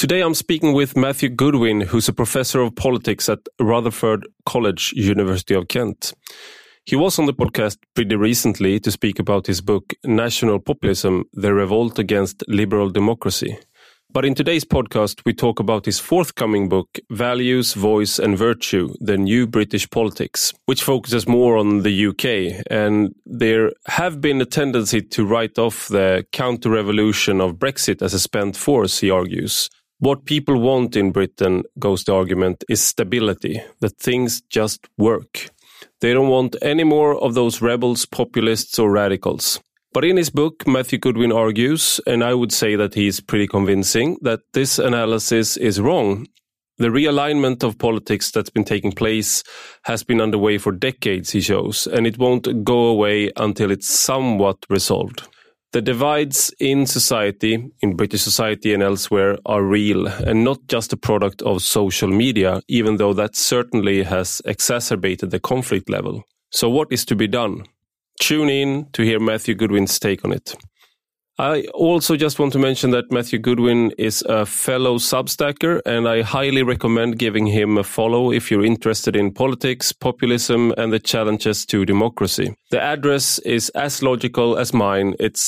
Today I'm speaking with Matthew Goodwin, who's a professor of politics at Rutherford College, University of Kent. He was on the podcast pretty recently to speak about his book, National Populism, The Revolt Against Liberal Democracy. But in today's podcast, we talk about his forthcoming book, Values, Voice and Virtue, The New British Politics, which focuses more on the UK. And there have been a tendency to write off the counter-revolution of Brexit as a spent force, he argues. What people want in Britain, goes the argument, is stability, that things just work. They don't want any more of those rebels, populists or radicals. But in his book, Matthew Goodwin argues, and I would say that he's pretty convincing, that this analysis is wrong. The realignment of politics that's been taking place has been underway for decades, he shows, and it won't go away until it's somewhat resolved. The divides in society, in British society and elsewhere, are real and not just a product of social media, even though that certainly has exacerbated the conflict level. So what is to be done? Tune in to hear Matthew Goodwin's take on it. I also just want to mention that Matthew Goodwin is a fellow Substacker, and I highly recommend giving him a follow if you're interested in politics, populism, and the challenges to democracy. The address is as logical as mine. It's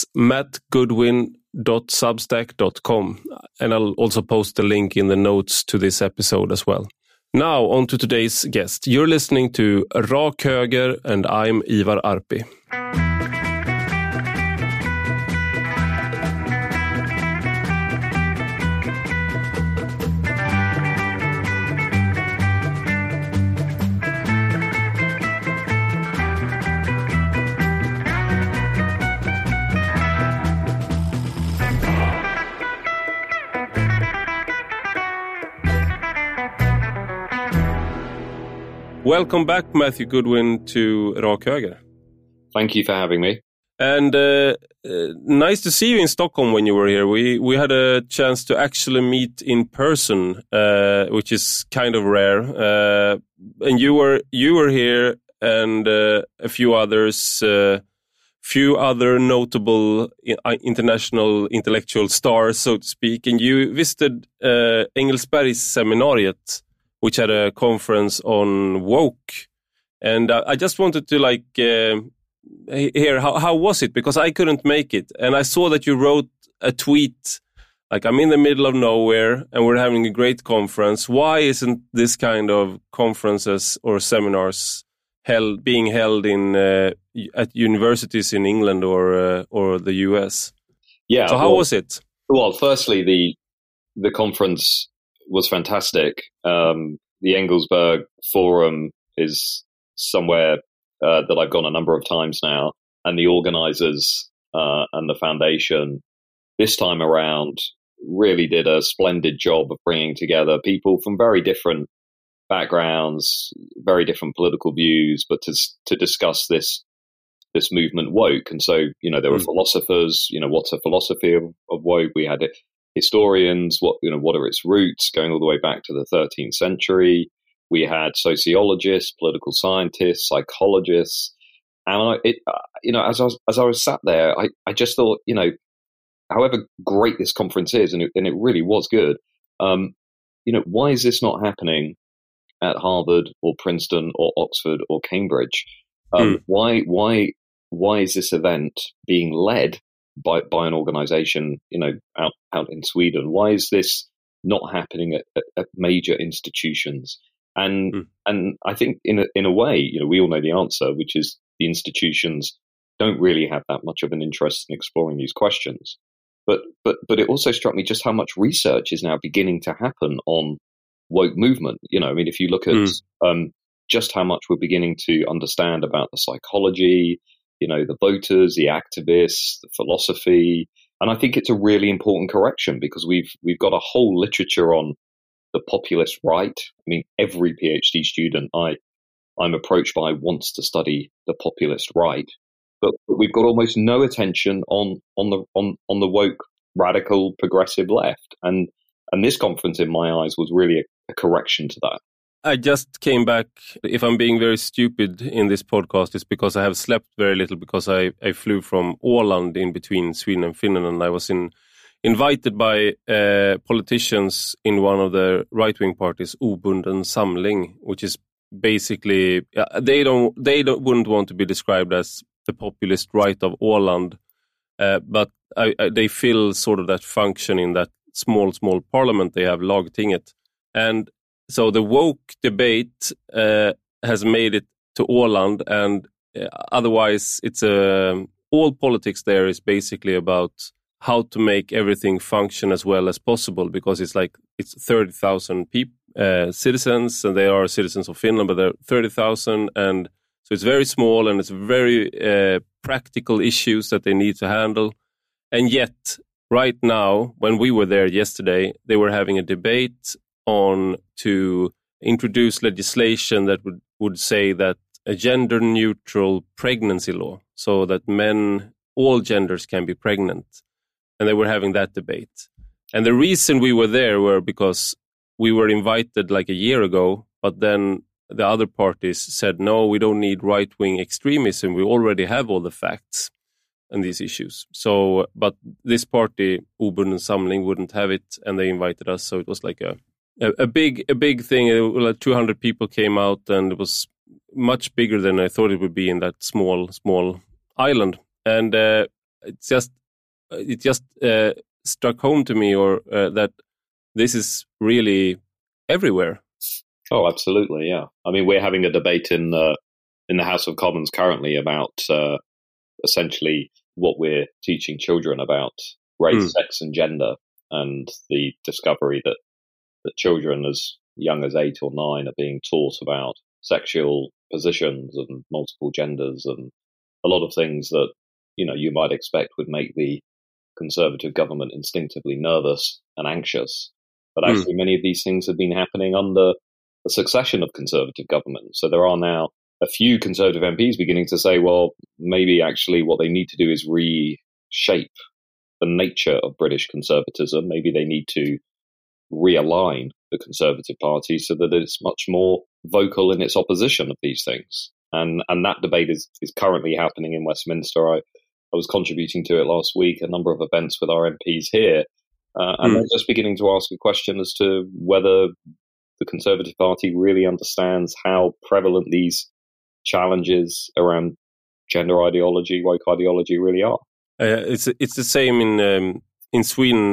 mattgoodwin.substack.com, and I'll also post the link in the notes to this episode as well. Now, on to today's guest. You're listening to Rak Höger, and I'm Ivar Arpi. Welcome back, Matthew Goodwin, to Rak Höger. Thank you for having me. And nice to see you in Stockholm when you were here. We had a chance to actually meet in person, which is kind of rare. And you were here, and a few others, few other notable international intellectual stars, so to speak. And you visited Engelsbergsseminariet, which had a conference on woke. And I just wanted to hear, how was it? Because I couldn't make it. And I saw that you wrote a tweet, like, I'm in the middle of nowhere and we're having a great conference. Why isn't this kind of conferences or seminars being held in at universities in England or the US? Yeah. So how was it? Well, firstly, the conference was fantastic. The Engelsberg Forum is somewhere that I've gone a number of times now, and the organizers and the foundation this time around really did a splendid job of bringing together people from very different backgrounds, very different political views, but to discuss this movement woke. And so, there were philosophers, what's a philosophy of woke? We had historians, what are its roots, going all the way back to the 13th century. We had sociologists, political scientists, psychologists, and as I was sat there, I just thought, however great this conference is, and it really was good. Why is this not happening at Harvard or Princeton or Oxford or Cambridge? Why is this event being led by an organization, out in Sweden? Why is this not happening at major institutions? And I think in a way, we all know the answer, which is the institutions don't really have that much of an interest in exploring these questions. But it also struck me just how much research is now beginning to happen on woke movement. If you look at just how much we're beginning to understand about the psychology, the voters, the activists, the philosophy. And I think it's a really important correction, because we've got a whole literature on the populist right. Every PhD student I'm approached by wants to study the populist right, but we've got almost no attention on the woke, radical, progressive left. And this conference, in my eyes, was really a correction to that. I just came back. If I'm being very stupid in this podcast, it's because I have slept very little, because I flew from Åland in between Sweden and Finland, and I was in invited by politicians in one of the right-wing parties, Obunden Samling, which is basically they wouldn't want to be described as the populist right of Åland, but they fill sort of that function in that small parliament they have, Lagtinget. And so the woke debate has made it to Åland, and otherwise it's all politics there is basically about how to make everything function as well as possible, because it's 30,000 citizens, and they are citizens of Finland, but they're 30,000, and so it's very small, and it's very practical issues that they need to handle. And yet, right now, when we were there yesterday, they were having a debate on to introduce legislation that would say that a gender-neutral pregnancy law, so that all genders can be pregnant. And they were having that debate. And the reason we were there were because we were invited like a year ago, but then the other parties said, no, we don't need right-wing extremism. We already have all the facts on these issues. So, but this party, Obunden Samling, wouldn't have it, and they invited us. So it was like a big thing. Like 200 people came out, and it was much bigger than I thought it would be in that small island. And it just struck home to me, that this is really everywhere. Oh, absolutely, yeah. I mean, we're having a debate in the House of Commons currently about essentially what we're teaching children about race, sex, and gender, and the discovery that children as young as 8 or 9 are being taught about sexual positions and multiple genders and a lot of things that you might expect would make the Conservative government instinctively nervous and anxious. But actually, many of these things have been happening under a succession of Conservative governments. So there are now a few Conservative MPs beginning to say, well, maybe actually what they need to do is reshape the nature of British conservatism. Maybe they need to realign the Conservative Party so that it's much more vocal in its opposition of these things. And that debate is currently happening in Westminster. I was contributing to it last week, a number of events with our MPs here, and they're just beginning to ask a question as to whether the Conservative Party really understands how prevalent these challenges around gender ideology, woke ideology really are. It's the same in Sweden.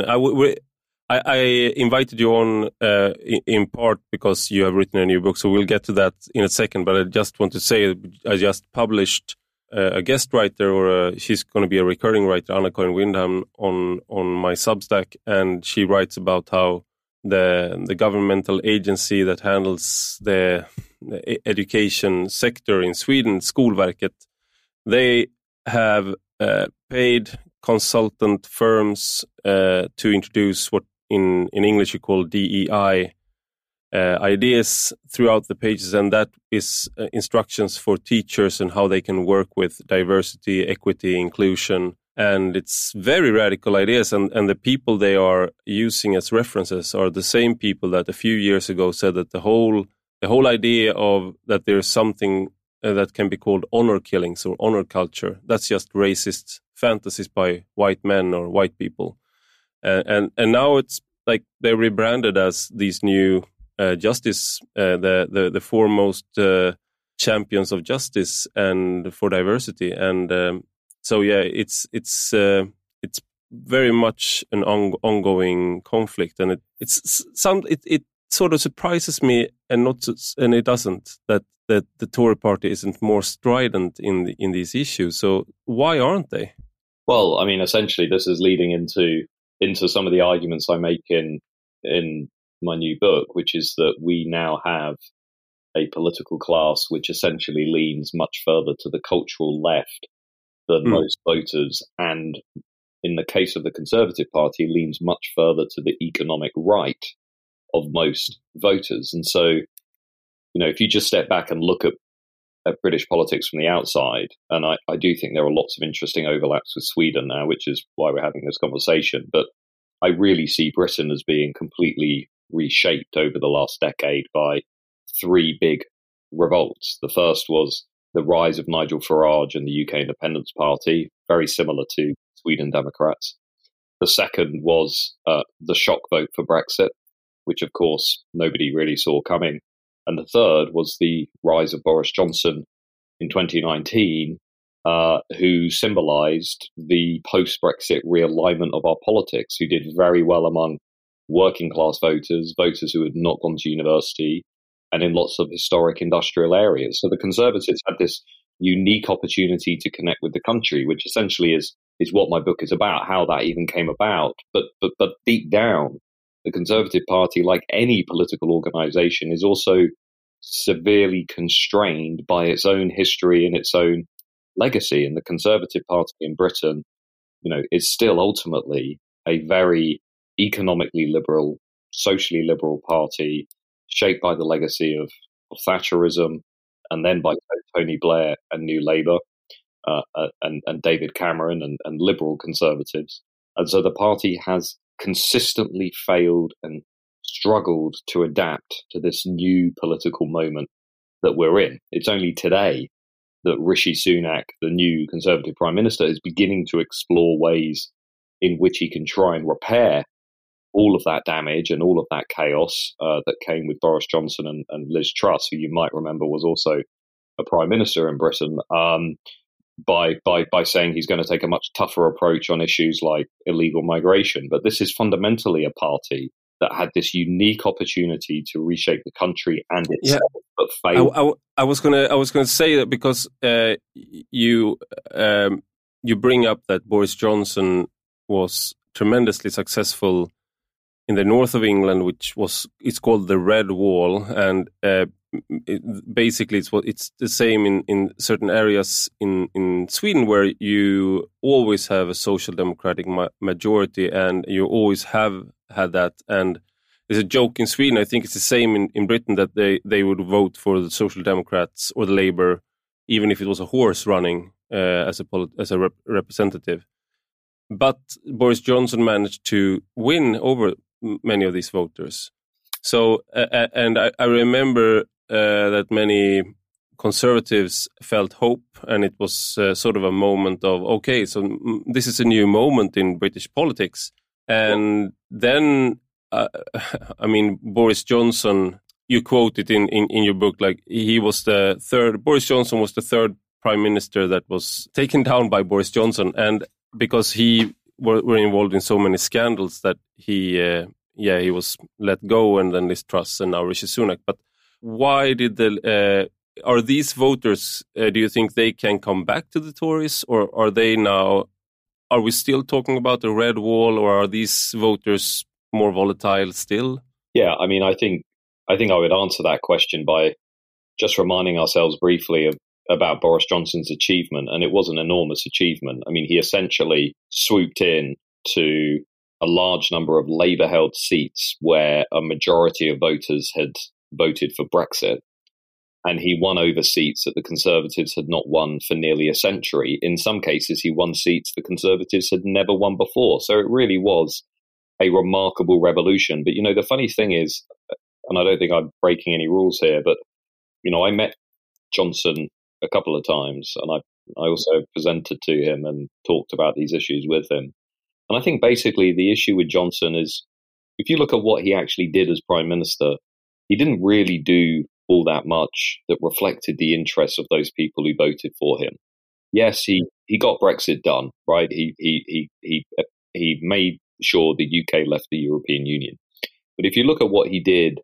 I invited you on in part because you have written a new book, so we'll get to that in a second. But I just want to say I just published a guest writer, or she's going to be a recurring writer, Anna-Karin Windham, on my Substack, and she writes about how the governmental agency that handles the education sector in Sweden, Skolverket, they have paid consultant firms to introduce what in English you call DEI ideas throughout the pages, and that is instructions for teachers and how they can work with diversity, equity, inclusion. And it's very radical ideas, and the people they are using as references are the same people that a few years ago said that the whole idea of that there's something that can be called honor killings or honor culture, that's just racist fantasies by white men or white people. And now it's like they're rebranded as these new justice, the foremost champions of justice and for diversity. And so yeah, it's very much an ongoing conflict, and it sort of surprises me, and it doesn't that the Tory party isn't more strident in these issues. So why aren't they? Well, I mean, essentially, this is leading into some of the arguments I make in my new book, which is that we now have a political class which essentially leans much further to the cultural left than most voters, and in the case of the Conservative Party, leans much further to the economic right of most voters. And so, if you just step back and look at British politics from the outside, and I do think there are lots of interesting overlaps with Sweden now, which is why we're having this conversation, but I really see Britain as being completely reshaped over the last decade by 3 big revolts. The first was the rise of Nigel Farage and the UK Independence Party, very similar to Sweden Democrats. The second was the shock vote for Brexit, which of course nobody really saw coming. And the third was the rise of Boris Johnson in 2019, who symbolised the post-Brexit realignment of our politics, who did very well among working class voters, voters who had not gone to university, and in lots of historic industrial areas. So the Conservatives had this unique opportunity to connect with the country, which essentially is what my book is about, how that even came about. But deep down, the Conservative Party, like any political organisation, is also severely constrained by its own history and its own legacy. And the Conservative Party in Britain, is still ultimately a very economically liberal, socially liberal party, shaped by the legacy of Thatcherism, and then by Tony Blair and New Labour, and David Cameron and liberal Conservatives. And so the party has consistently failed and struggled to adapt to this new political moment that we're in. It's only today that Rishi Sunak, the new Conservative Prime Minister, is beginning to explore ways in which he can try and repair all of that damage and all of that chaos that came with Boris Johnson and Liz Truss, who you might remember was also a Prime Minister in Britain, by saying he's going to take a much tougher approach on issues like illegal migration. But this is fundamentally a party that had this unique opportunity to reshape the country and itself, but failed. I was gonna say that because you bring up that Boris Johnson was tremendously successful in the north of England, it's called the Red Wall, and basically it's the same in certain areas in Sweden, where you always have a social democratic majority, and you always have had that. And there's a joke in Sweden, I think it's the same in Britain, that they would vote for the Social Democrats or the Labour, even if it was a horse running as a representative. But Boris Johnson managed to win over many of these voters. So, and I remember that many Conservatives felt hope, and it was sort of a moment of, okay, so this is a new moment in British politics. And then, Boris Johnson, you quote it in your book, like Boris Johnson was the third prime minister that was taken down by Boris Johnson. And because he were involved in so many scandals that he was let go, and then Liz Truss and now Rishi Sunak. But why did are these voters, do you think they can come back to the Tories, or are we still talking about the Red Wall, or are these voters more volatile still? Yeah, I think I would answer that question by just reminding ourselves briefly about Boris Johnson's achievement, and it was an enormous achievement. He essentially swooped in to a large number of Labour-held seats where a majority of voters had voted for Brexit, and he won over seats that the Conservatives had not won for nearly a century. In some cases, he won seats the Conservatives had never won before. So it really was a remarkable revolution. But, the funny thing is, and I don't think I'm breaking any rules here, but, I met Johnson a couple of times, and I also presented to him and talked about these issues with him. And I think basically the issue with Johnson is, if you look at what he actually did as Prime Minister, he didn't really do all that much that reflected the interests of those people who voted for him. Yes, he got Brexit done, right? He made sure the UK left the European Union. But if you look at what he did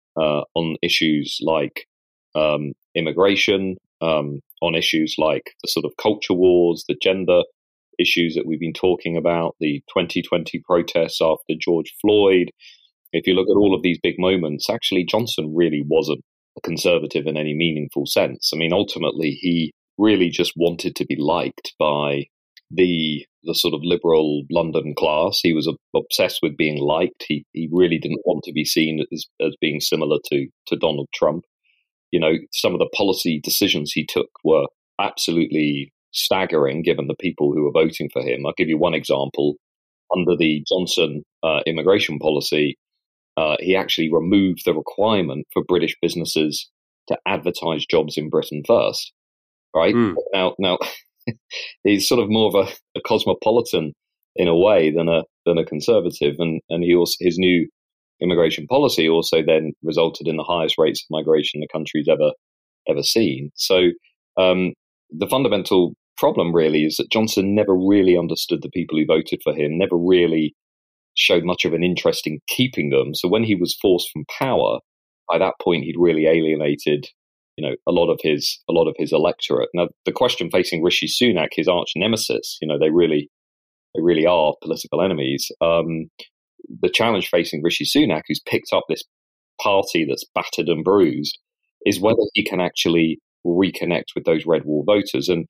on issues like immigration, on issues like the sort of culture wars, the gender issues that we've been talking about, the 2020 protests after George Floyd, if you look at all of these big moments, actually Johnson really wasn't a Conservative in any meaningful sense. Ultimately, he really just wanted to be liked by the sort of liberal London class. He was obsessed with being liked. He really didn't want to be seen as being similar to Donald Trump. Some of the policy decisions he took were absolutely staggering given the people who were voting for him. I'll give you one example. Under the Johnson immigration policy, he actually removed the requirement for British businesses to advertise jobs in Britain first. Right? Now he's sort of more of a cosmopolitan in a way than a Conservative, and he also, his new immigration policy also then resulted in the highest rates of migration the country's ever seen. So the fundamental problem really is that Johnson never really understood the people who voted for him, never really showed much of an interest in keeping them. So when he was forced from power, by that point he'd really alienated, a lot of his electorate. Now the question facing Rishi Sunak, his arch nemesis, they really are political enemies. The challenge facing Rishi Sunak, who's picked up this party that's battered and bruised, is whether he can actually reconnect with those red wall voters. And,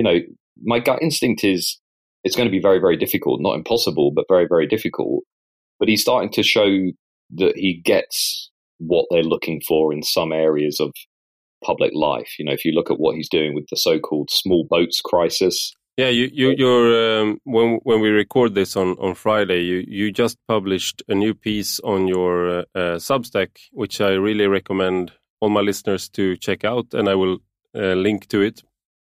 my gut instinct is it's going to be very, very difficult, not impossible, but very, very difficult. But he's starting to show that he gets what they're looking for in some areas of public life. If you look at what he's doing with the so-called small boats crisis. Yeah, you're when we record this on Friday, you just published a new piece on your Substack, which I really recommend all my listeners to check out, and I will link to it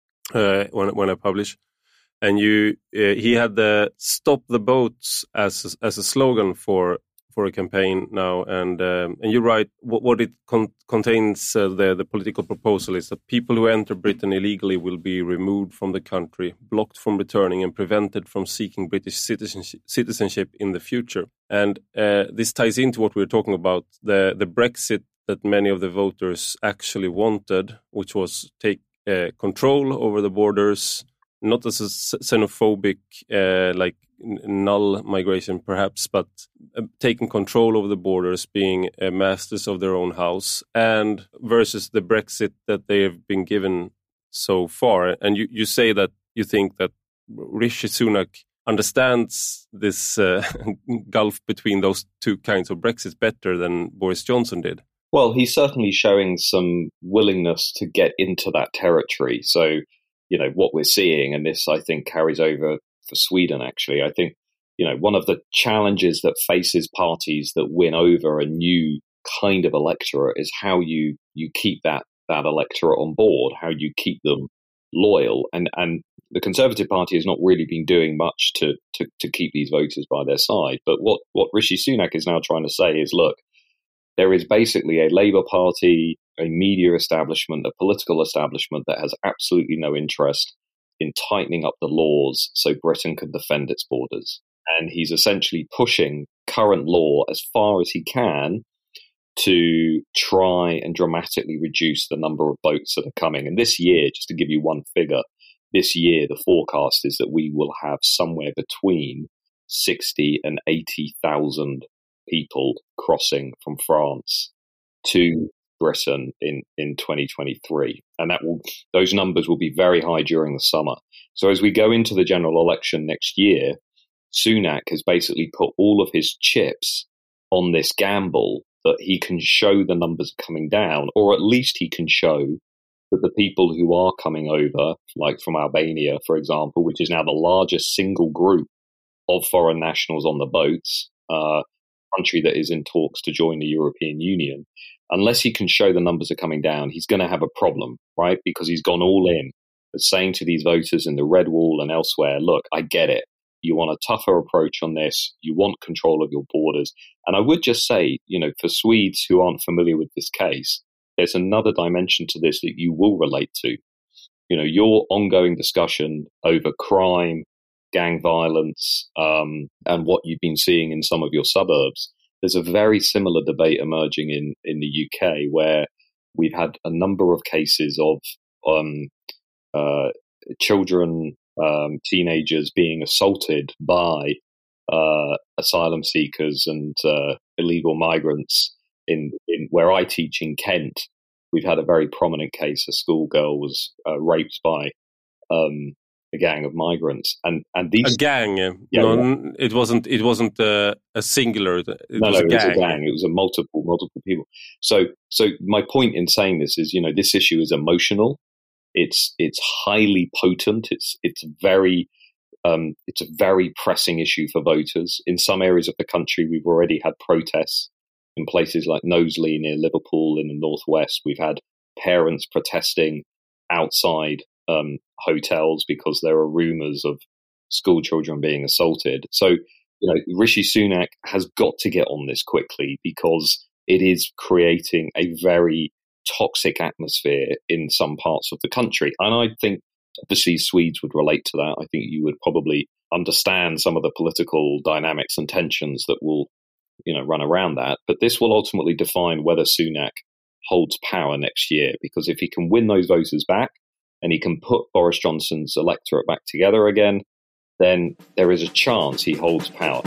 when I publish. And he had the "Stop the Boats" as a slogan for a campaign now, and you write what it contains. The political proposal is that people who enter Britain illegally will be removed from the country, blocked from returning, and prevented from seeking British citizenship in the future. And this ties into what we were talking about, the Brexit that many of the voters actually wanted, which was take control over the borders, not as a xenophobic like null migration perhaps, but taking control over the borders, being masters of their own house, and versus the Brexit that they have been given so far. And you say that you think that Rishi Sunak understands this gulf between those two kinds of Brexit better than Boris Johnson did. Well, he's certainly showing some willingness to get into that territory. So, what we're seeing, and this I think carries over for Sweden, actually, I think, one of the challenges that faces parties that win over a new kind of electorate is how you keep that electorate on board, how you keep them loyal. And the Conservative Party has not really been doing much to keep these voters by their side. But what Rishi Sunak is now trying to say is, look, there is basically a Labour Party, a media establishment, a political establishment that has absolutely no interest in tightening up the laws so Britain can defend its borders. And he's essentially pushing current law as far as he can to try and dramatically reduce the number of boats that are coming. And this year, just to give you one figure, this year the forecast is that we will have somewhere between 60 and 80,000 people crossing from France to Britain in 2023. And those numbers will be very high during the summer. So as we go into the general election next year, Sunak has basically put all of his chips on this gamble that he can show the numbers coming down, or at least he can show that the people who are coming over, like from Albania, for example, which is now the largest single group of foreign nationals on the boats, country that is in talks to join the European Union, unless he can show the numbers are coming down, he's going to have a problem, right? Because he's gone all in, but saying to these voters in the Red Wall and elsewhere, look, I get it. You want a tougher approach on this. You want control of your borders. And I would just say, for Swedes who aren't familiar with this case, there's another dimension to this that you will relate to. Your ongoing discussion over crime, gang violence, and what you've been seeing in some of your suburbs. There's a very similar debate emerging in the UK where we've had a number of cases of children, teenagers being assaulted by asylum seekers and illegal migrants. In where I teach in Kent, we've had a very prominent case. A schoolgirl was raped by a gang of migrants, and these a gang. It wasn't a singular. It was a gang. It was a multiple people. So my point in saying this is, this issue is emotional. It's highly potent. It's a very pressing issue for voters. In some areas of the country, we've already had protests. In places like Knowsley near Liverpool in the northwest, we've had parents protesting outside hotels because there are rumours of school children being assaulted. So, Rishi Sunak has got to get on this quickly because it is creating a very toxic atmosphere in some parts of the country. And I think obviously Swedes would relate to that. I think you would probably understand some of the political dynamics and tensions that will, run around that. But this will ultimately define whether Sunak holds power next year, because if he can win those voters back and he can put Boris Johnson's electorate back together again, then there is a chance he holds power.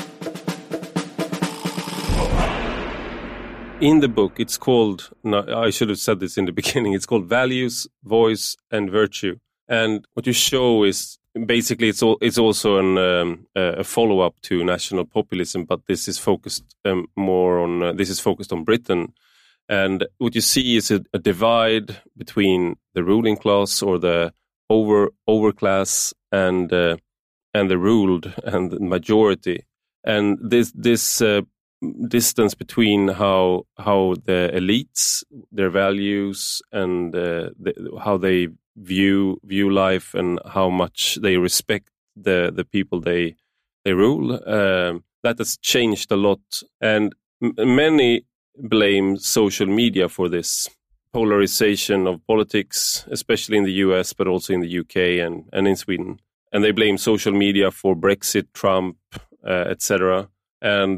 In the book, it's called, I should have said this in the beginning, it's called Values, Voice and Virtue. And what you show is basically it's also a follow-up to national populism, but this is focused focused on Britain. And what you see is a divide between the ruling class or the overclass and the ruled and the majority, and this distance between how the elites, their values, and how they view life, and how much they respect the people they rule, that has changed a lot. And many blame social media for this polarization of politics, especially in the US, but also in the UK and in Sweden. And they blame social media for Brexit, Trump, etc. And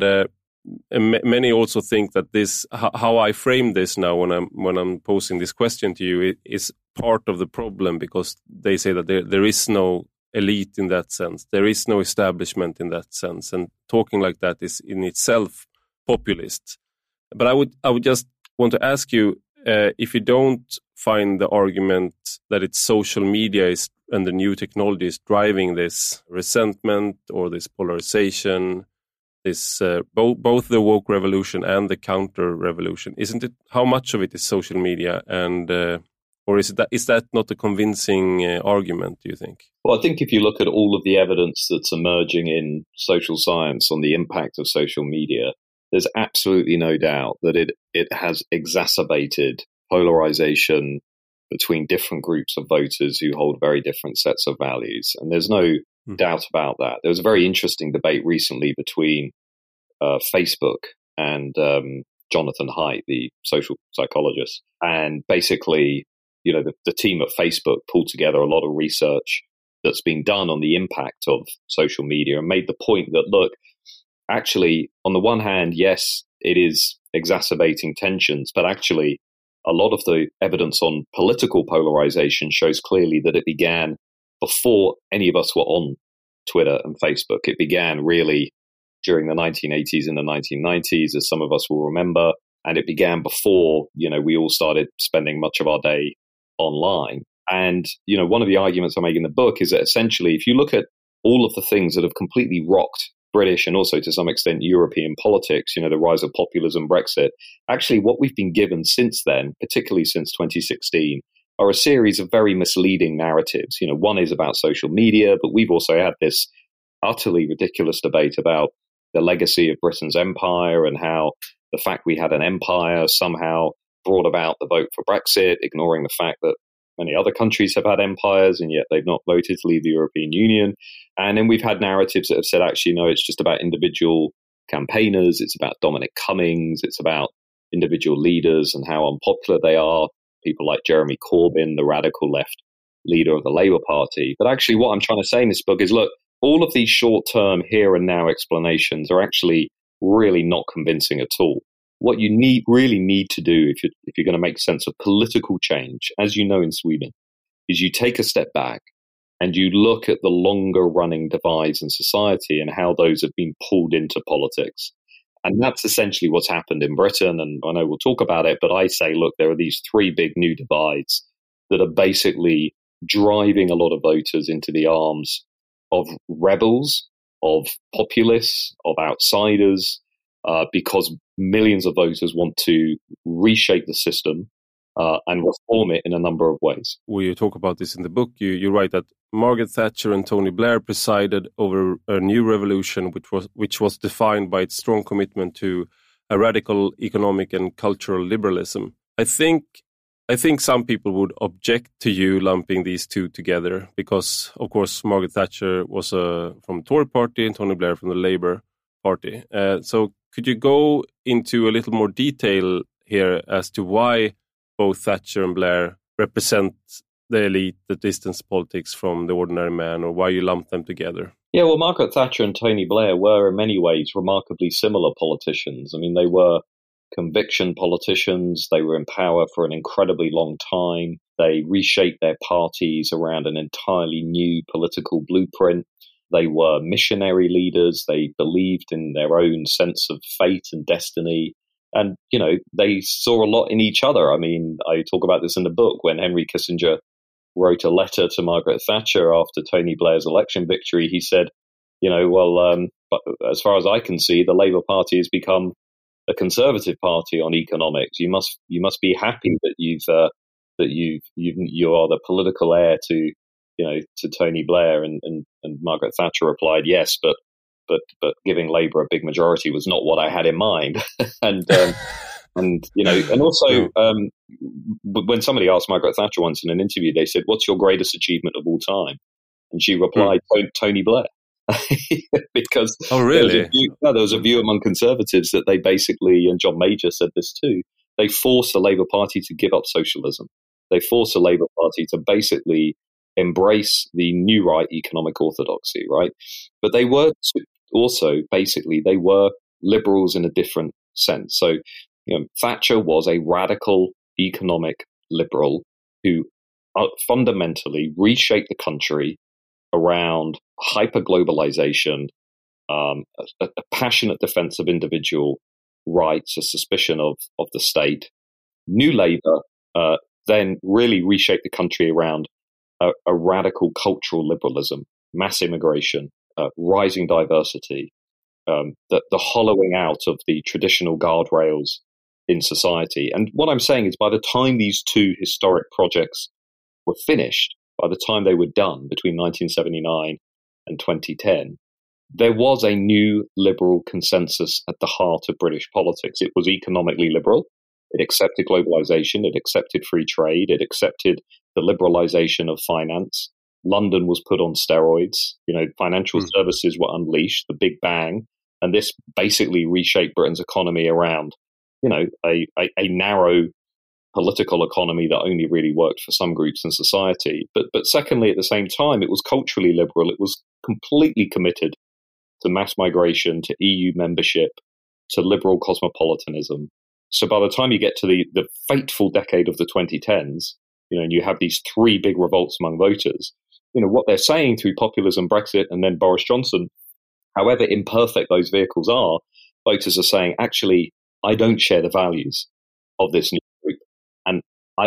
many also think that this, how I frame this now when I'm posing this question to you, is part of the problem, because they say that there is no elite in that sense, there is no establishment in that sense, and talking like that is in itself populist. But I would just want to ask you, if you don't find the argument that it's social media and the new technology is driving this resentment or this polarization, this both the woke revolution and the counter revolution, isn't it? How much of it is social media, and or is that not a convincing argument, do you think? Well, I think if you look at all of the evidence that's emerging in social science on the impact of social media, there's absolutely no doubt that it has exacerbated polarization between different groups of voters who hold very different sets of values. And there's no doubt about that. There was a very interesting debate recently between Facebook and Jonathan Haidt, the social psychologist. And basically, the team at Facebook pulled together a lot of research that's been done on the impact of social media and made the point that, look, actually, on the one hand, yes, it is exacerbating tensions, but actually a lot of the evidence on political polarization shows clearly that it began before any of us were on Twitter and Facebook. It began really during the 1980s and the 1990s, as some of us will remember, and it began before, we all started spending much of our day online. And, one of the arguments I make in the book is that essentially, if you look at all of the things that have completely rocked British and also to some extent European politics, the rise of populism, Brexit, actually what we've been given since then, particularly since 2016, are a series of very misleading narratives. One is about social media, but we've also had this utterly ridiculous debate about the legacy of Britain's empire and how the fact we had an empire somehow brought about the vote for Brexit, ignoring the fact that many other countries have had empires and yet they've not voted to leave the European Union. And then we've had narratives that have said, actually, no, it's just about individual campaigners. It's about Dominic Cummings. It's about individual leaders and how unpopular they are. People like Jeremy Corbyn, the radical left leader of the Labour Party. But actually what I'm trying to say in this book is, look, all of these short-term here and now explanations are actually really not convincing at all. What you really need to do if you're going to make sense of political change, as you know in Sweden, is you take a step back and you look at the longer running divides in society and how those have been pulled into politics. And that's essentially what's happened in Britain. And I know we'll talk about it, but I say, look, there are these three big new divides that are basically driving a lot of voters into the arms of rebels, of populists, of outsiders, because millions of voters want to reshape the system and reform it in a number of ways. You talk about this in the book. You write that Margaret Thatcher and Tony Blair presided over a new revolution which was defined by its strong commitment to a radical economic and cultural liberalism. I think I think some people would object to you lumping these two together because, of course, Margaret Thatcher was from the Tory party and Tony Blair from the Labour party. So could you go into a little more detail here as to why both Thatcher and Blair represent the elite that distance politics from the ordinary man, or why you lump them together? Yeah, well, Margaret Thatcher and Tony Blair were in many ways remarkably similar politicians. I mean, they were conviction politicians. They were in power for an incredibly long time. They reshaped their parties around an entirely new political blueprint. They were missionary leaders. They believed in their own sense of fate and destiny. And, you know, they saw a lot in each other. I mean, I talk about this in the book when Henry Kissinger wrote a letter to Margaret Thatcher after Tony Blair's election victory. He said, you know, well, but as far as I can see, the Labour Party has become a conservative party on economics. You must be happy that you are the political heir to Tony Blair. And Margaret Thatcher replied, yes, but giving Labour a big majority was not what I had in mind. And also when somebody asked Margaret Thatcher once in an interview, they said, "What's your greatest achievement of all time?" And she replied, "Tony Blair." Because really? There was a view among conservatives that they basically, and John Major said this too, they forced the Labour Party to give up socialism. They forced the Labour Party to basically embrace the new right economic orthodoxy, right? But they were also basically, they were liberals in a different sense. So, you know, Thatcher was a radical economic liberal who fundamentally reshaped the country around hyper-globalization, a passionate defense of individual rights, a suspicion of the state. New Labour then really reshaped the country around a radical cultural liberalism, mass immigration, rising diversity, the hollowing out of the traditional guardrails in society. And what I'm saying is by the time these two historic projects were finished, by the time they were done between 1979 and 2010, there was a new liberal consensus at the heart of British politics. It was economically liberal. It accepted globalization. It accepted free trade. It accepted the liberalization of finance. London was put on steroids. You know, financial services were unleashed, the big bang. And this basically reshaped Britain's economy around, you know, a narrow political economy that only really worked for some groups in society. But secondly, at the same time, it was culturally liberal. It was completely committed to mass migration, to EU membership, to liberal cosmopolitanism. So by the time you get to the fateful decade of the 2010s, you know, and you have these three big revolts among voters, you know, what they're saying through populism, Brexit, and then Boris Johnson, however imperfect those vehicles are, voters are saying, actually, I don't share the values of this new group. And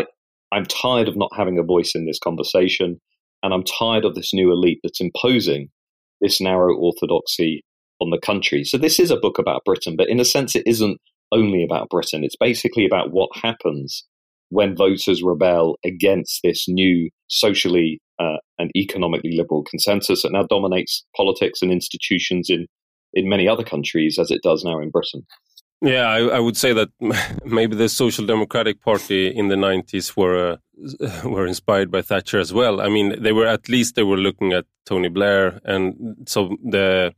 I'm tired of not having a voice in this conversation. And I'm tired of this new elite that's imposing this narrow orthodoxy on the country. So this is a book about Britain, but in a sense, it isn't only about Britain. It's basically about what happens when voters rebel against this new socially and economically liberal consensus that now dominates politics and institutions in many other countries as it does now in Britain. Yeah, I would say that maybe the Social Democratic Party in the 90s were inspired by Thatcher as well. I mean, they were looking at Tony Blair, and so the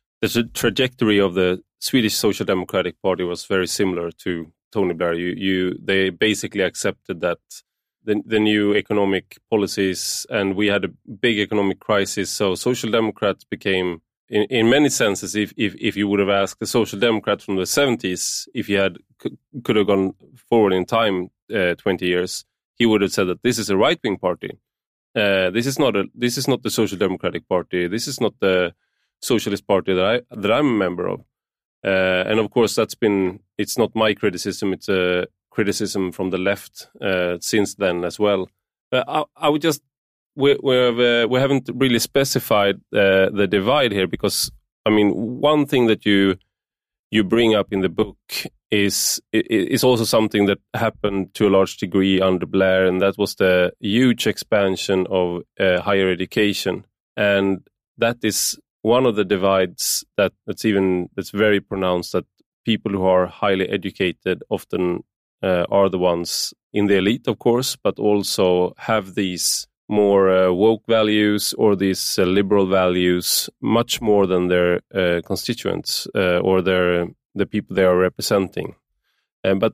trajectory of the Swedish Social Democratic Party was very similar to Tony Blair. They basically accepted that the new economic policies, and we had a big economic crisis. So Social Democrats became, in many senses, if you would have asked the Social Democrats from the 70s, if he could have gone forward in time 20 years, he would have said that this is a right-wing party. This is not the Social Democratic Party. This is not the Socialist Party that I'm a member of. And of course, it's not my criticism. It's a criticism from the left since then as well. I would just, we haven't really specified the divide here, because I mean, one thing that you bring up in the book is also something that happened to a large degree under Blair, and that was the huge expansion of higher education, and that is one of the divides that's very pronounced, that people who are highly educated often are the ones in the elite, of course, but also have these more woke values or these liberal values much more than their constituents or the people they are representing. But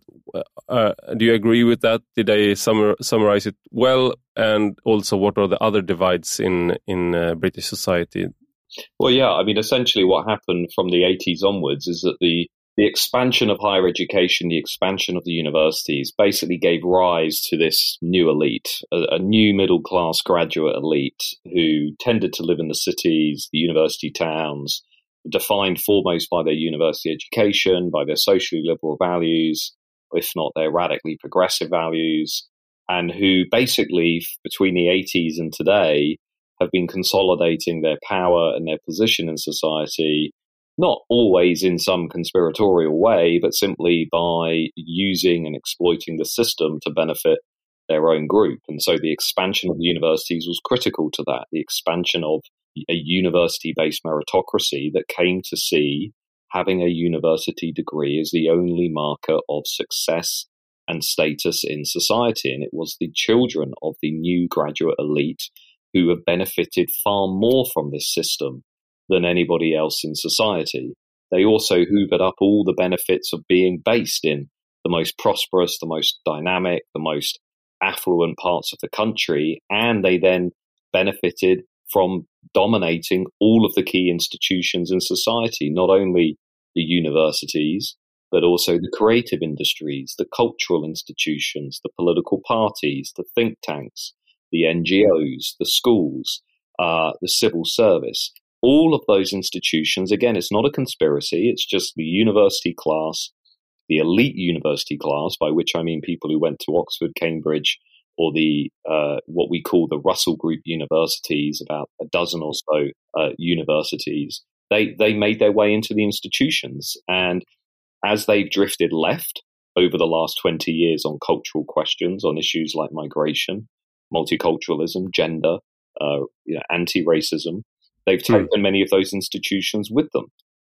do you agree with that? Did I summarize it well? And also, what are the other divides in British society? Well, yeah, I mean, essentially what happened from the 80s onwards is that the expansion of higher education, the expansion of the universities basically gave rise to this new elite, a new middle-class graduate elite who tended to live in the cities, the university towns, defined foremost by their university education, by their socially liberal values, if not their radically progressive values, and who basically, between the 80s and today, have been consolidating their power and their position in society, not always in some conspiratorial way, but simply by using and exploiting the system to benefit their own group. And so the expansion of the universities was critical to that, the expansion of a university-based meritocracy that came to see having a university degree as the only marker of success and status in society. And it was the children of the new graduate elite who have benefited far more from this system than anybody else in society. They also hoovered up all the benefits of being based in the most prosperous, the most dynamic, the most affluent parts of the country, and they then benefited from dominating all of the key institutions in society, not only the universities, but also the creative industries, the cultural institutions, the political parties, the think tanks, the NGOs, the schools, the civil service. All of those institutions, again, it's not a conspiracy, it's just the university class, the elite university class, by which I mean people who went to Oxford, Cambridge, or the what we call the Russell Group universities, about a dozen or so universities. They made their way into the institutions, and as they've drifted left over the last 20 years on cultural questions, on issues like migration, multiculturalism, gender, anti-racism, they've taken many of those institutions with them.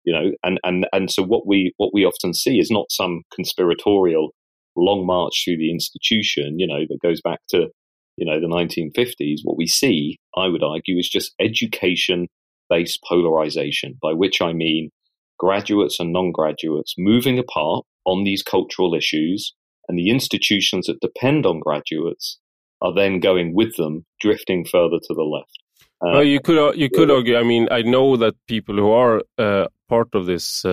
And so what we often see is not some conspiratorial long march through the institution, that goes back to, the 1950s. What we see, I would argue, is just education-based polarization, by which I mean graduates and non-graduates moving apart on these cultural issues, and the institutions that depend on graduates are then going with them, drifting further to the left. Well, you could argue. I mean, I know that people who are part of this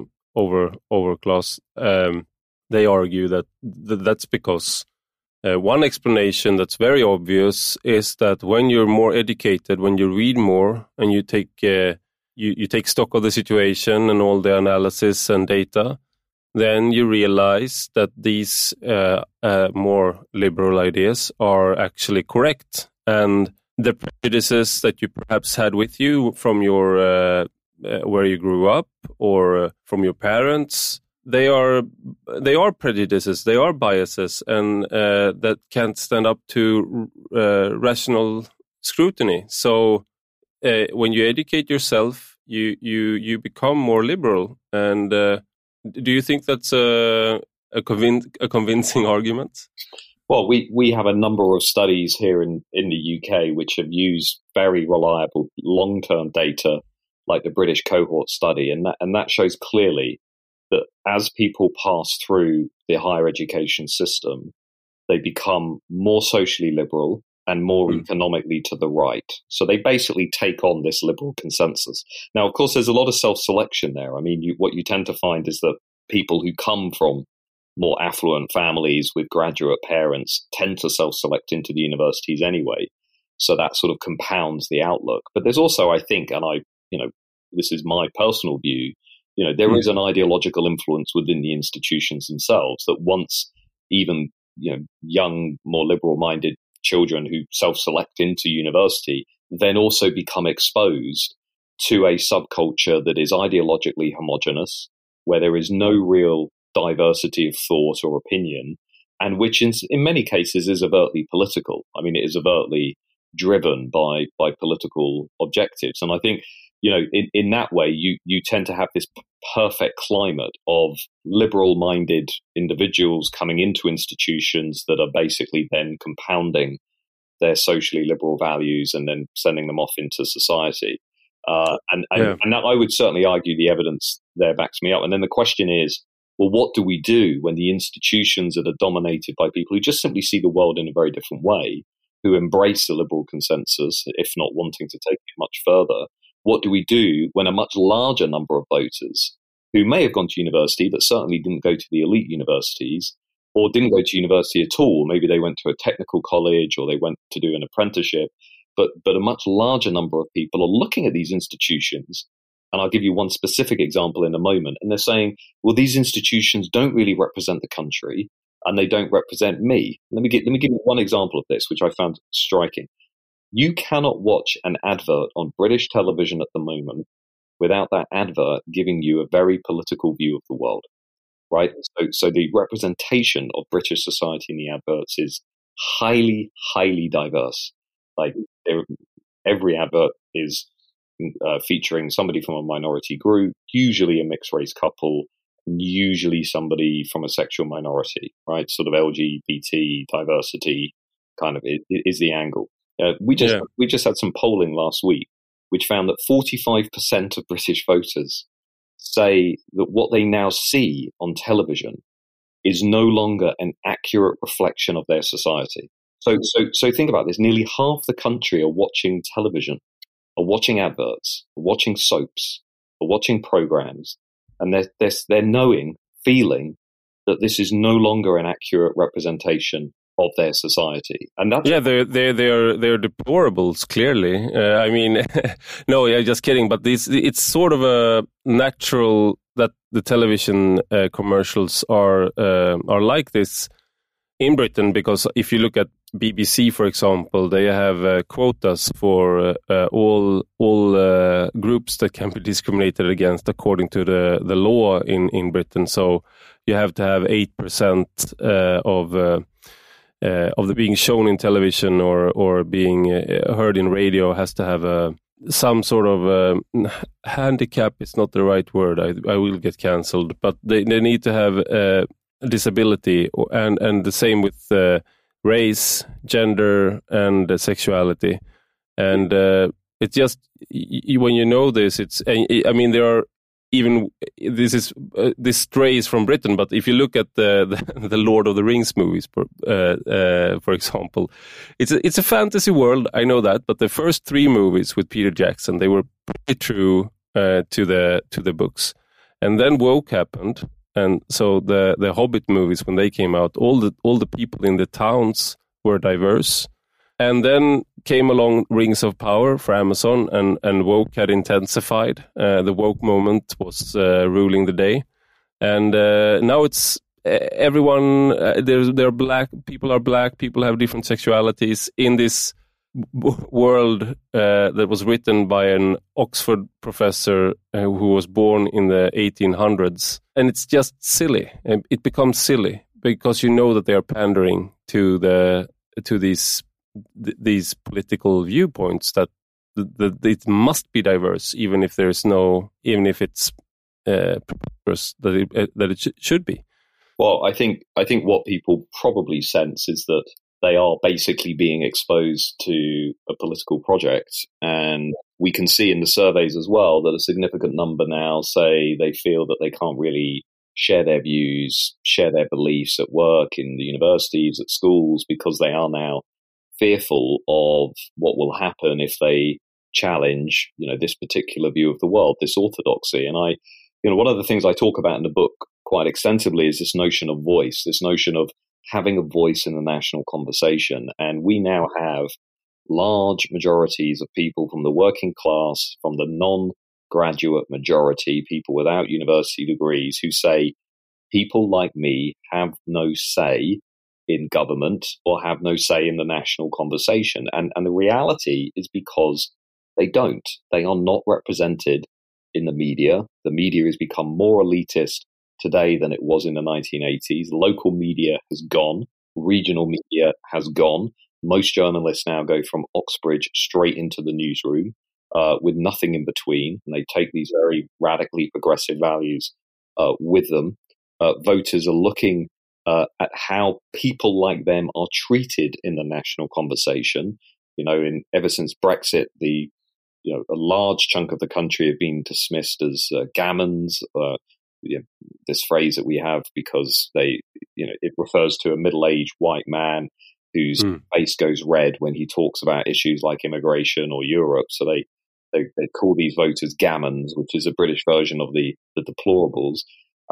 overclass, they argue that that's because one explanation that's very obvious is that when you're more educated, when you read more, and you take you take stock of the situation and all the analysis and data, then you realize that these more liberal ideas are actually correct, and the prejudices that you perhaps had with you from your where you grew up or from your parents, they are prejudices, they are biases, and that can't stand up to rational scrutiny. So when you educate yourself, you become more liberal. And do you think that's a convincing argument? Well, we have a number of studies here in the UK which have used very reliable long-term data, like the British cohort study, and that shows clearly that as people pass through the higher education system, they become more socially liberal and more economically to the right. So they basically take on this liberal consensus. Now, of course, there's a lot of self-selection there. I mean, what you tend to find is that people who come from more affluent families with graduate parents tend to self-select into the universities anyway. So that sort of compounds the outlook. But there's also, I think, and this is my personal view, there is an ideological influence within the institutions themselves that once even, young, more liberal-minded children who self-select into university then also become exposed to a subculture that is ideologically homogenous, where there is no real diversity of thought or opinion, and which in many cases is overtly political. I mean, it is overtly driven by political objectives. And I think in that way, you tend to have this perfect climate of liberal-minded individuals coming into institutions that are basically then compounding their socially liberal values and then sending them off into society. And that, I would certainly argue the evidence there backs me up. And then the question is, well, what do we do when the institutions that are dominated by people who just simply see the world in a very different way, who embrace the liberal consensus, if not wanting to take it much further? What do we do when a much larger number of voters who may have gone to university but certainly didn't go to the elite universities or didn't go to university at all, maybe they went to a technical college or they went to do an apprenticeship, but a much larger number of people are looking at these institutions, and I'll give you one specific example in a moment, and they're saying, well, these institutions don't really represent the country and they don't represent me. Let me give you one example of this, which I found striking. You cannot watch an advert on British television at the moment without that advert giving you a very political view of the world, right? So the representation of British society in the adverts is highly, highly diverse. Like every advert is featuring somebody from a minority group, usually a mixed race couple, usually somebody from a sexual minority, right? Sort of LGBT diversity kind of is the angle. We just had some polling last week, which found that 45% of British voters say that what they now see on television is no longer an accurate reflection of their society. So think about this. Nearly half the country are watching television, are watching adverts, are watching soaps, are watching programs, and they're feeling that this is no longer an accurate representation of their society. And that's they're deplorables, clearly. I mean, no, yeah, just kidding. But it's sort of a natural that the television commercials are like this in Britain, because if you look at BBC, for example, they have quotas for all groups that can be discriminated against according to the law in Britain. So you have to have 8% of the being shown in television or being heard in radio has to have some sort of handicap. It's not the right word. I will get cancelled, but they need to have a disability, and the same with race, gender, and sexuality. And it's just when you know this, I mean, there are even this strays from Britain, but if you look at the Lord of the Rings movies, for example, it's a fantasy world. I know that, but the first 3 movies with Peter Jackson, they were pretty true to the books, and then woke happened, and so the Hobbit movies, when they came out, all the people in the towns were diverse. And then came along Rings of Power for Amazon, and woke had intensified. The woke moment was ruling the day, and now it's everyone. They're black. People are black. People have different sexualities in this world that was written by an Oxford professor who was born in the 1800s, and it's just silly. It becomes silly because you know that they are pandering to these political viewpoints, that it must be diverse, even if it's preposterous that it should be. Well, I think what people probably sense is that they are basically being exposed to a political project, and we can see in the surveys as well that a significant number now say they feel that they can't really share their views, share their beliefs at work, in the universities, at schools, because they are now fearful of what will happen if they challenge, this particular view of the world, this orthodoxy. And one of the things I talk about in the book quite extensively is this notion of voice, this notion of having a voice in the national conversation. And we now have large majorities of people from the working class, from the non-graduate majority, people without university degrees, who say people like me have no say in government or have no say in the national conversation. And the reality is because they don't. They are not represented in the media. The media has become more elitist today than it was in the 1980s. Local media has gone. Regional media has gone. Most journalists now go from Oxbridge straight into the newsroom. with nothing in between, and they take these very radically progressive values with them. Voters are looking at how people like them are treated in the national conversation. Ever since Brexit, a large chunk of the country have been dismissed as gammons. This phrase that we have because it refers to a middle-aged white man whose face goes red when he talks about issues like immigration or Europe. So they call these voters gammons, which is a British version of the deplorables.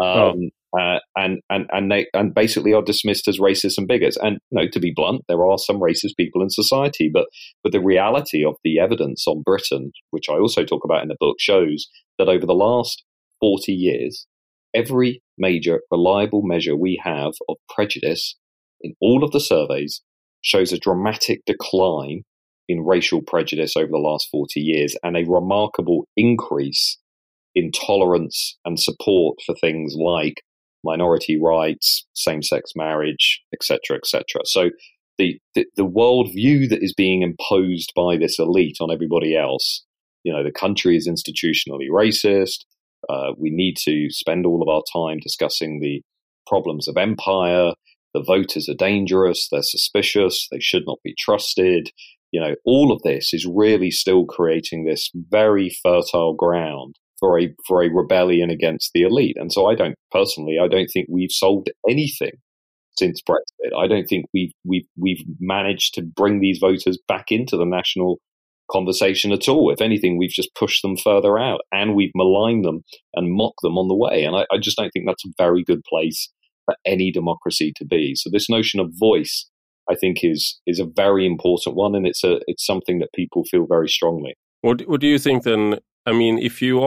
And basically are dismissed as racists and bigots. And to be blunt, there are some racist people in society, but the reality of the evidence on Britain, which I also talk about in the book, shows that over the last 40 years, every major reliable measure we have of prejudice in all of the surveys shows a dramatic decline in racial prejudice over the last 40 years and a remarkable increase in tolerance and support for things like minority rights, same-sex marriage, etc., etc. So the worldview that is being imposed by this elite on everybody else, the country is institutionally racist. We need to spend all of our time discussing the problems of empire. The voters are dangerous. They're suspicious. They should not be trusted. All of this is really still creating this very fertile ground for a rebellion against the elite. And so I don't think we've solved anything since Brexit. I don't think we've managed to bring these voters back into the national conversation at all. If anything, we've just pushed them further out and we've maligned them and mocked them on the way. And I just don't think that's a very good place for any democracy to be. So this notion of voice, I think, is a very important one, and it's something that people feel very strongly. What do you think then? I mean, if you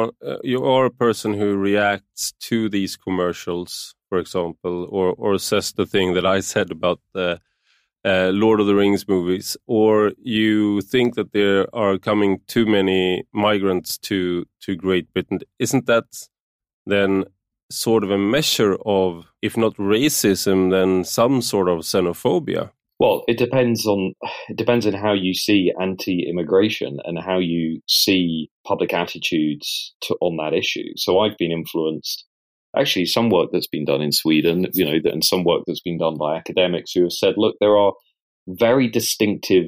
are a person who reacts to these commercials, for example, or says the thing that I said about the Lord of the Rings movies, or you think that there are coming too many migrants to Great Britain, isn't that then sort of a measure of, if not racism, then some sort of xenophobia? Well, it depends on how you see anti-immigration and how you see public attitudes on that issue. So I've been influenced, actually, some work that's been done in Sweden, and some work that's been done by academics who have said, look, there are very distinctive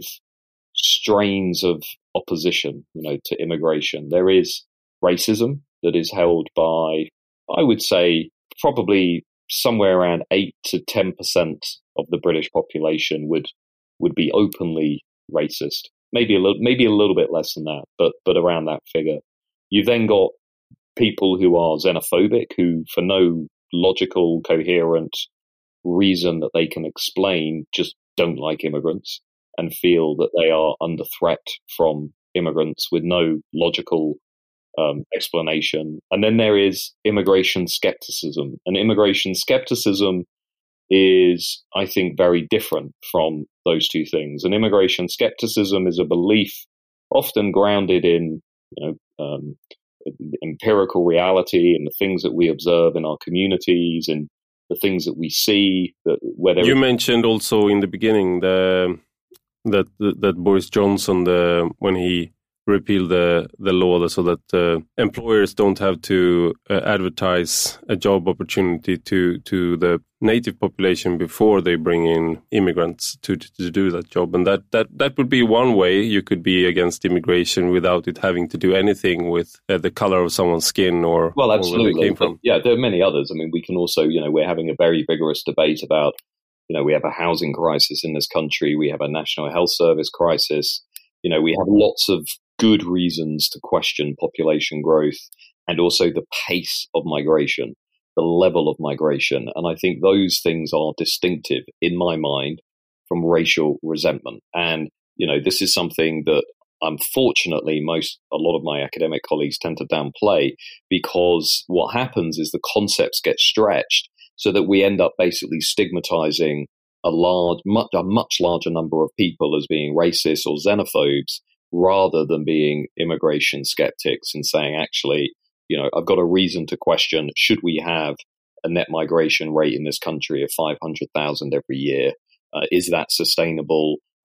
strains of opposition, to immigration. There is racism that is held by, I would say, probably somewhere around 8 to 10% of the British population would be openly racist. Maybe a little bit less than that, but around that figure. You've then got people who are xenophobic, who for no logical, coherent reason that they can explain just don't like immigrants and feel that they are under threat from immigrants with no logical explanation. And then there is immigration skepticism. And immigration skepticism is, I think, very different from those two things. And immigration skepticism is a belief often grounded in, empirical reality and the things that we observe in our communities and the things that we see. You mentioned also in the beginning that Boris Johnson, when he repeal the law so that employers don't have to advertise a job opportunity to the native population before they bring in immigrants to do that job. And that would be one way you could be against immigration without it having to do anything with the color of someone's skin or absolutely. Or where they came from. Yeah, there are many others. I mean, we can also, we're having a very vigorous debate about, we have a housing crisis in this country. We have a national health service crisis. We have lots of good reasons to question population growth and also the pace of migration, the level of migration. And I think those things are distinctive in my mind from racial resentment. And, this is something that unfortunately a lot of my academic colleagues tend to downplay, because what happens is the concepts get stretched so that we end up basically stigmatizing a much larger number of people as being racist or xenophobes, rather than being immigration skeptics and saying, actually, I've got a reason to question, should we have a net migration rate in this country of 500,000 every year? Is that sustainable?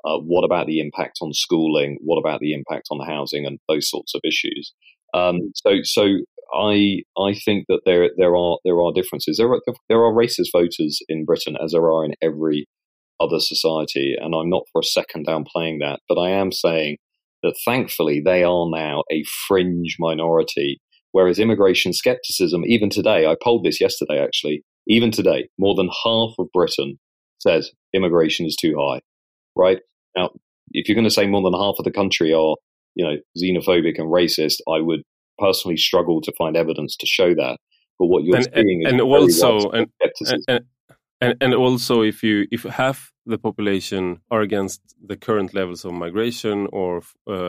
What about the impact on schooling? What about the impact on housing and those sorts of issues? So I think that there are differences. There are racist voters in Britain, as there are in every other society, and I'm not for a second downplaying that. But I am saying that thankfully they are now a fringe minority. Whereas immigration skepticism, even today, I polled this yesterday actually. Even today, more than half of Britain says immigration is too high. Right now, if you're going to say more than half of the country are, xenophobic and racist, I would personally struggle to find evidence to show that. But what you're seeing is and also if half the population are against the current levels of migration or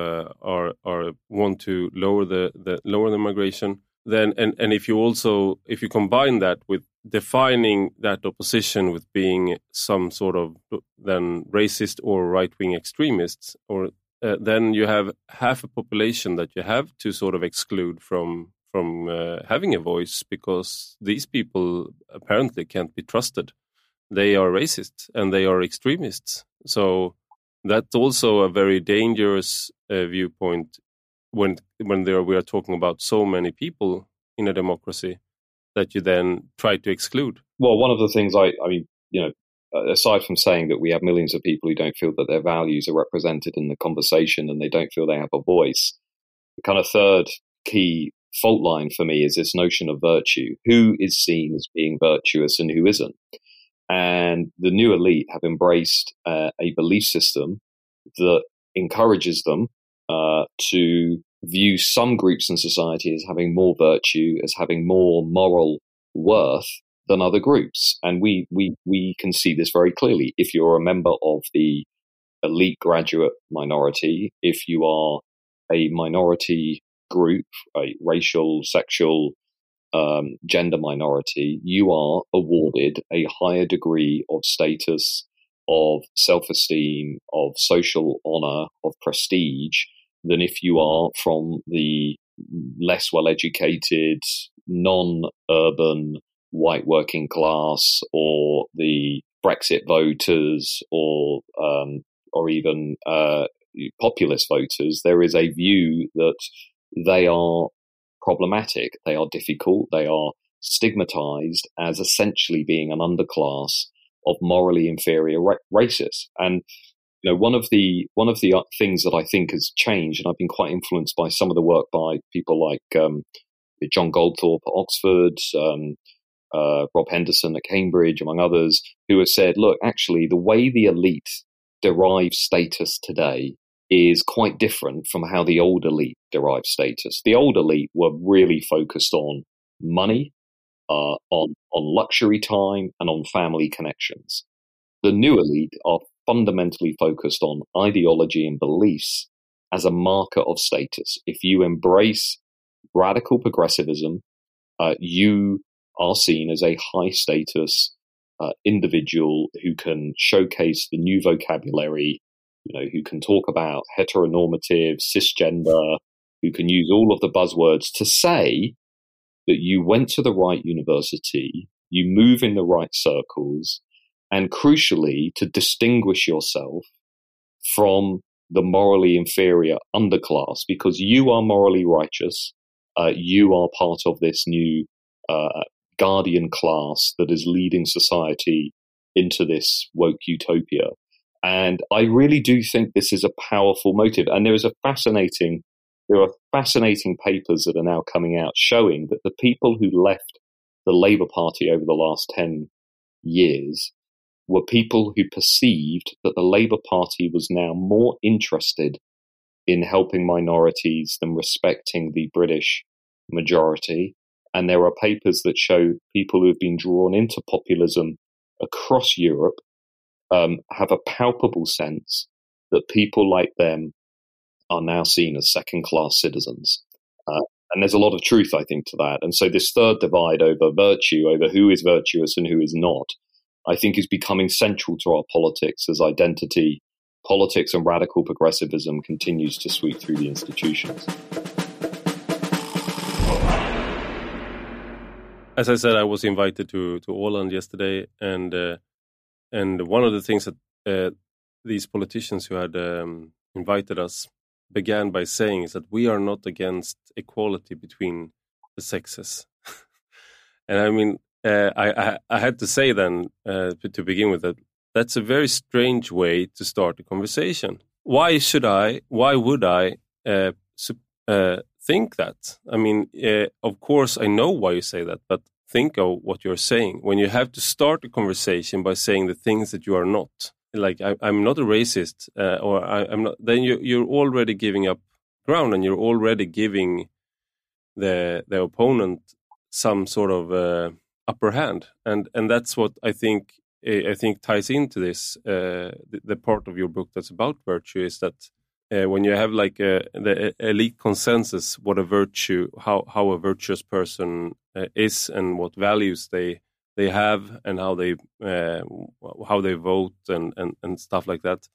want to lower the migration, then and if you combine that with defining that opposition with being some sort of then racist or right-wing extremists, or then you have half a population that you have to sort of exclude from having a voice, because these people apparently can't be trusted. They are racist and they are extremists. So that's also a very dangerous viewpoint when we are talking about so many people in a democracy that you then try to exclude. Well, one of the things aside from saying that we have millions of people who don't feel that their values are represented in the conversation and they don't feel they have a voice, the kind of third key fault line for me is this notion of virtue. Who is seen as being virtuous and who isn't? And the new elite have embraced a belief system that encourages them to view some groups in society as having more virtue, as having more moral worth than other groups. And we can see this very clearly. If you're a member of the elite graduate minority, if you are a minority group, a racial, sexual, gender minority, you are awarded a higher degree of status, of self-esteem, of social honor, of prestige than if you are from the less well-educated, non-urban, white working class, or the Brexit voters, or even populist voters. There is a view that they are problematic, they are difficult, they are stigmatized as essentially being an underclass of morally inferior races. And one of the things that I think has changed, and I've been quite influenced by some of the work by people like John Goldthorpe at Oxford, Rob Henderson at Cambridge, among others, who have said, look, actually, the way the elite derive status today is quite different from how the old elite derived status. The old elite were really focused on money, on luxury time, and on family connections. The new elite are fundamentally focused on ideology and beliefs as a marker of status. If you embrace radical progressivism, you are seen as a high status individual who can showcase the new vocabulary, who can talk about heteronormative, cisgender, who can use all of the buzzwords to say that you went to the right university, you move in the right circles, and crucially, to distinguish yourself from the morally inferior underclass, because you are morally righteous, you are part of this new guardian class that is leading society into this woke utopia. And I really do think this is a powerful motive. And there are fascinating papers that are now coming out showing that the people who left the Labour Party over the last 10 years were people who perceived that the Labour Party was now more interested in helping minorities than respecting the British majority. And there are papers that show people who have been drawn into populism across Europe have a palpable sense that people like them are now seen as second-class citizens. And there's a lot of truth, I think, to that. And so this third divide over virtue, over who is virtuous and who is not, I think is becoming central to our politics as identity politics and radical progressivism continues to sweep through the institutions. As I said, I was invited to Åland yesterday, and one of the things that these politicians who had invited us began by saying is that we are not against equality between the sexes. And I mean, I had to say then to begin with that that's a very strange way to start a conversation. Why would I think that? I mean, of course, I know why you say that, but think of what you're saying. When you have to start a conversation by saying the things that you are not, like I'm not a racist, or I'm not, then you're already giving up ground, and you're already giving the opponent some sort of upper hand, and that's what I think ties into this. The part of your book that's about virtue is that when you have like the elite consensus, what a virtue, how a virtuous person is, and what values they have, and how they vote and stuff like that.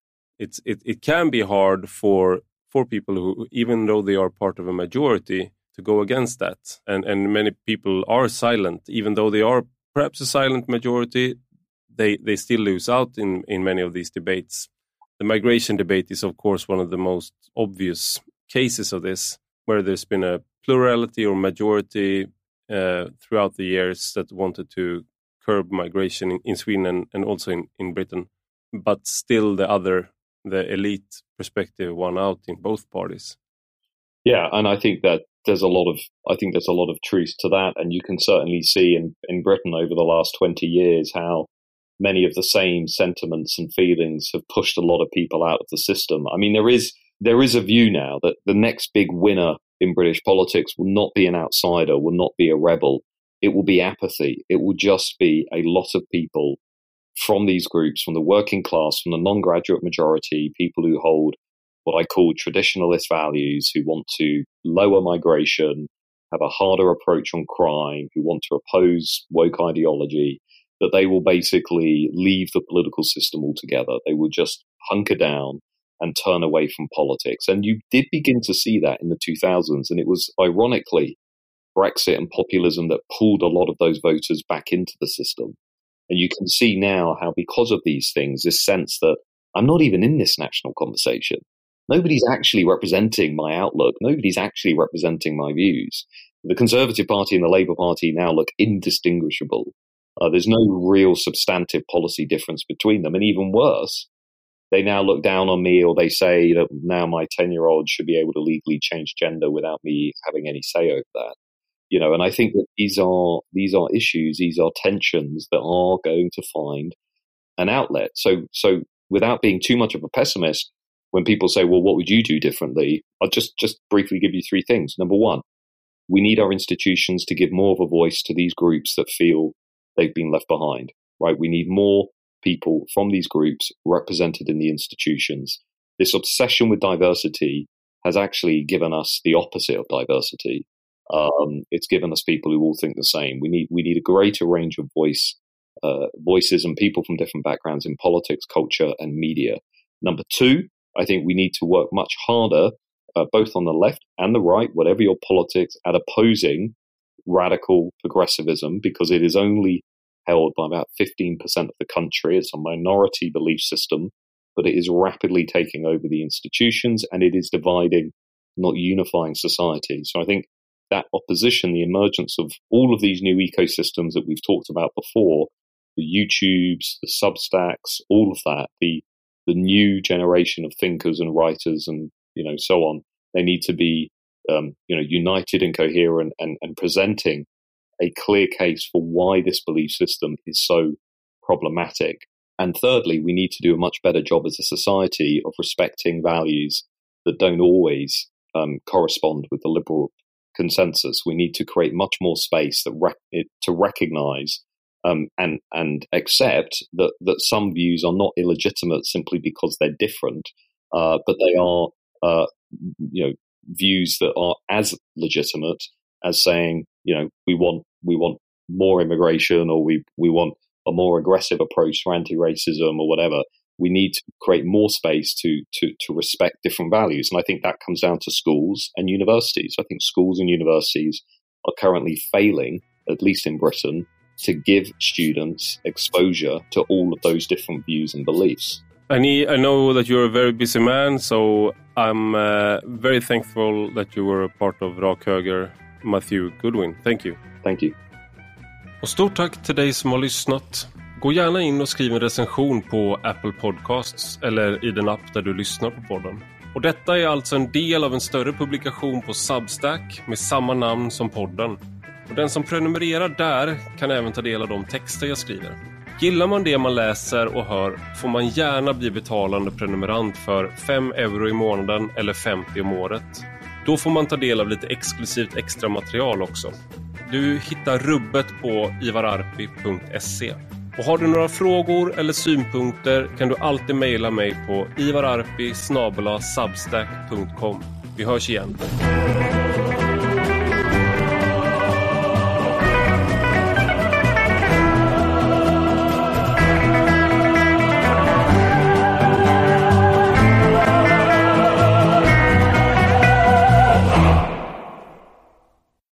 It can be hard for people who, even though they are part of a majority, to go against that, and many people are silent, even though they are perhaps a silent majority. They still lose out in many of these debates. The migration debate is, of course, one of the most obvious cases of this, where there's been a plurality or majority throughout the years that wanted to curb migration in Sweden and also in Britain, but still the elite perspective won out in both parties. Yeah, and I think that there's a lot of truth to that, and you can certainly see in Britain over the last 20 years how many of the same sentiments and feelings have pushed a lot of people out of the system. I mean, there is a view now that the next big winner in British politics will not be an outsider, will not be a rebel. It will be apathy. It will just be a lot of people from these groups, from the working class, from the non-graduate majority, people who hold what I call traditionalist values, who want to lower migration, have a harder approach on crime, who want to oppose woke ideology, that they will basically leave the political system altogether. They will just hunker down and turn away from politics. And you did begin to see that in the 2000s. And it was ironically Brexit and populism that pulled a lot of those voters back into the system. And you can see now how, because of these things, this sense that I'm not even in this national conversation. Nobody's actually representing my outlook. Nobody's actually representing my views. The Conservative Party and the Labour Party now look indistinguishable. There's no real substantive policy difference between them. And even worse, they now look down on me, or they say that now my 10-year-old should be able to legally change gender without me having any say over that. You know, and I think that these are issues, these are tensions that are going to find an outlet. So without being too much of a pessimist, when people say, well, what would you do differently? I'll just briefly give you three things. Number one, we need our institutions to give more of a voice to these groups that feel they've been left behind, right? We need more people from these groups represented in the institutions. This obsession with diversity has actually given us the opposite of diversity. It's given us people who all think the same. We need a greater range of voices and people from different backgrounds in politics, culture, and media. Number two, I think we need to work much harder, both on the left and the right, whatever your politics, at opposing radical progressivism, because it is only held by about 15% of the country. It's a minority belief system, but it is rapidly taking over the institutions, and it is dividing, not unifying society. So I think that opposition, the emergence of all of these new ecosystems that we've talked about before, the YouTubes, the Substacks, all of that, the new generation of thinkers and writers and, so on, they need to be, united and coherent and presenting a clear case for why this belief system is so problematic. And thirdly, we need to do a much better job as a society of respecting values that don't always correspond with the liberal consensus. We need to create much more space to recognize and accept that some views are not illegitimate simply because they're different, but they are views that are as legitimate as saying, we want more immigration, or we want a more aggressive approach to anti-racism or whatever. We need to create more space to respect different values. And I think that comes down to schools and universities. I think schools and universities are currently failing, at least in Britain, to give students exposure to all of those different views and beliefs. I know that you're a very busy man, so I'm very thankful that you were a part of Rak Höger, Matthew Goodwin. Thank you. Thank you. Och stort tack till dig som har lyssnat. Gå gärna in och skriv en recension på Apple Podcasts eller i den app där du lyssnar på podden. Och detta är alltså en del av en större publikation på Substack med samma namn som podden. Och den som prenumererar där kan även ta del av de texter jag skriver. Gillar man det man läser och hör får man gärna bli betalande prenumerant för 5 euro i månaden eller 50 om året. Då får man ta del av lite exklusivt extra material också. Du hittar rubbet på ivararpi.se. Och har du några frågor eller synpunkter kan du alltid mejla mig på ivararpi@substack.com. Vi hörs igen.